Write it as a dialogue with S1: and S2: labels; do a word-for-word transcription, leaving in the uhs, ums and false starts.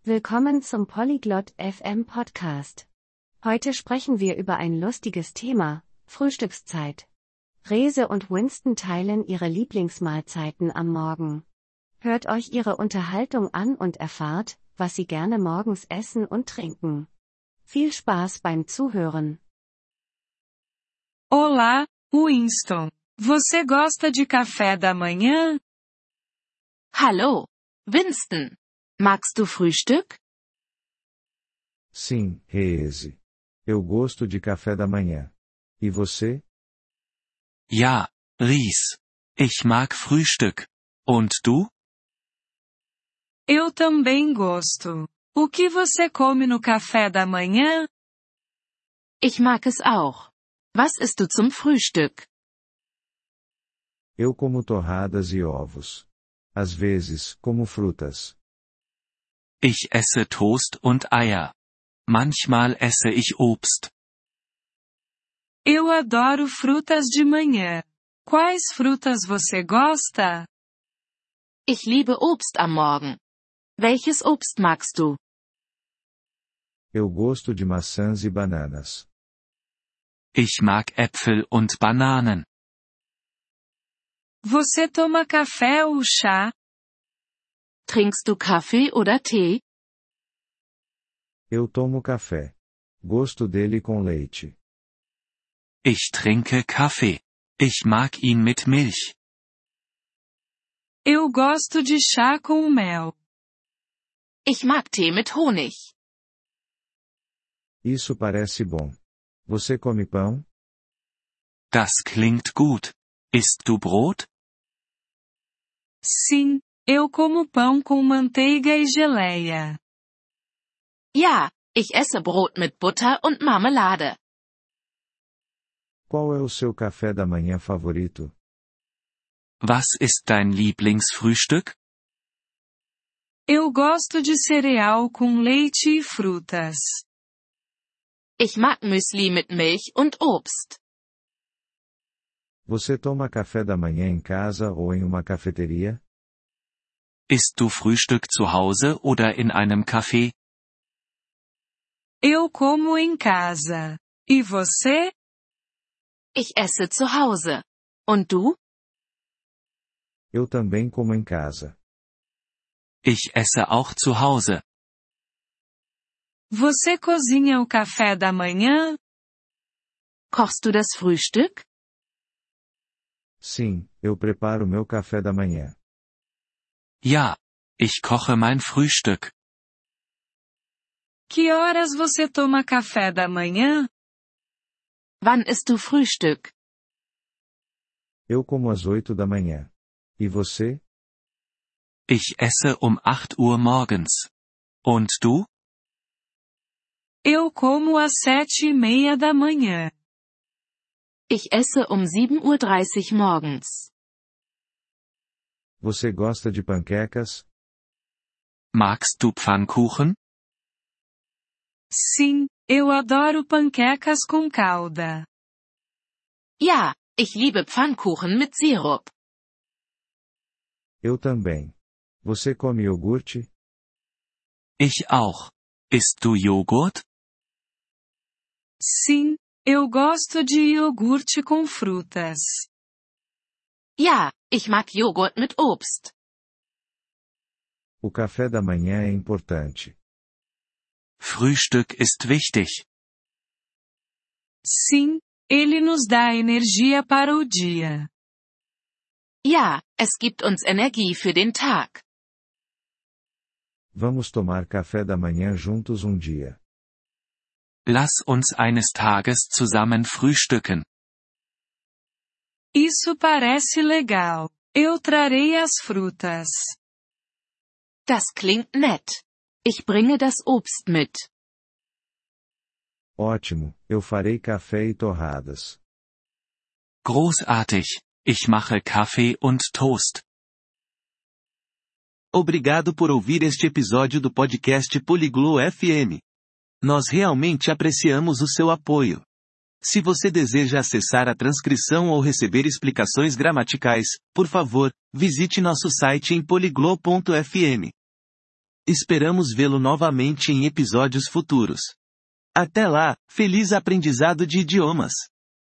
S1: Willkommen zum Polyglot F M Podcast. Heute sprechen wir über ein lustiges Thema, Frühstückszeit. Rese und Winston teilen ihre Lieblingsmahlzeiten am Morgen. Hört euch ihre Unterhaltung an und erfahrt, was sie gerne morgens essen und trinken. Viel Spaß beim Zuhören.
S2: Olá, Winston. Você gosta de café da manhã?
S3: Hallo, Winston. Magst du Frühstück?
S4: Sim, Reese. Eu gosto de café da manhã. E você?
S5: Ja, Ries. Ich mag Frühstück. Und du?
S2: Eu também gosto. O que você come no café da manhã?
S3: Ich mag es auch. Was isst du zum Frühstück?
S4: Eu como torradas e ovos. Às vezes, como frutas.
S5: Ich esse Toast und Eier. Manchmal esse ich Obst.
S2: Eu adoro frutas de manhã. Quais frutas você gosta?
S3: Ich liebe Obst am Morgen. Welches Obst magst du?
S4: Eu gosto de maçãs e bananas.
S5: Ich mag Äpfel und Bananen.
S2: Você toma café ou chá?
S3: Trinkst du Kaffee oder Tee?
S4: Eu tomo café. Gosto dele com leite.
S5: Ich trinke Kaffee. Ich mag ihn mit Milch.
S2: Eu gosto de chá com mel.
S3: Ich mag Tee mit Honig.
S4: Isso parece bom. Você come pão?
S5: Das klingt gut. Isst du Brot?
S2: Sim, eu como pão com manteiga e geleia.
S3: Ja, ich esse Brot mit Butter und Marmelade.
S4: Qual é o seu café da manhã favorito?
S5: Was ist dein Lieblingsfrühstück?
S2: Eu gosto de cereal com leite e frutas.
S3: Ich mag Müsli mit Milch und Obst.
S4: Você toma café da manhã em casa ou em uma cafeteria?
S5: Isst du Frühstück zu Hause oder in einem Café?
S2: Eu como em casa. E você?
S3: Ich esse zu Hause. Und du?
S4: Eu também como em casa.
S5: Ich esse auch zu Hause.
S2: Você cozinha o café da manhã?
S3: Kochst du das Frühstück?
S4: Sim, eu preparo meu café da manhã.
S5: Ja, ich koche mein Frühstück.
S2: Que horas você toma café da manhã?
S3: Wann isst du Frühstück?
S4: Eu como às oito da manhã. E você?
S5: Ich esse um acht Uhr morgens. Und du?
S2: Eu como às sete e meia da manhã.
S3: Ich esse um sieben Uhr dreißig morgens.
S4: Você gosta de panquecas?
S5: Magst du Pfannkuchen?
S2: Sim, eu adoro panquecas com calda.
S3: Ja, ich liebe Pfannkuchen mit Sirup.
S4: Eu também. Você come iogurte?
S5: Ich auch. Isst du Joghurt?
S2: Sim, eu gosto de iogurte com frutas.
S3: Ja, ich mag Joghurt mit Obst.
S4: O café da manhã é importante.
S5: Frühstück ist wichtig.
S2: Sim, ele nos dá energia para o dia.
S3: Ja, es gibt uns Energie für den Tag.
S4: Vamos tomar café da manhã juntos um dia.
S5: Lass uns eines Tages zusammen frühstücken.
S2: Isso parece legal. Eu trarei as frutas.
S3: Das klingt nett. Ich bringe das Obst mit.
S4: Ótimo, eu farei café e torradas.
S5: Großartig. Ich mache Kaffee und Toast.
S6: Obrigado por ouvir este episódio do podcast Poliglo F M. Nós realmente apreciamos o seu apoio. Se você deseja acessar a transcrição ou receber explicações gramaticais, por favor, visite nosso site em poliglo ponto f m. Esperamos vê-lo novamente em episódios futuros. Até lá, feliz aprendizado de idiomas!